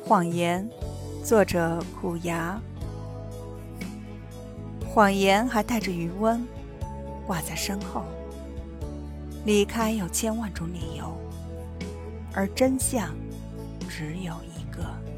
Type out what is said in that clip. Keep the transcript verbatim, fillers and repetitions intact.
谎言，作者苦牙。谎言还带着余温，挂在身后。离开有千万种理由，而真相只有一个。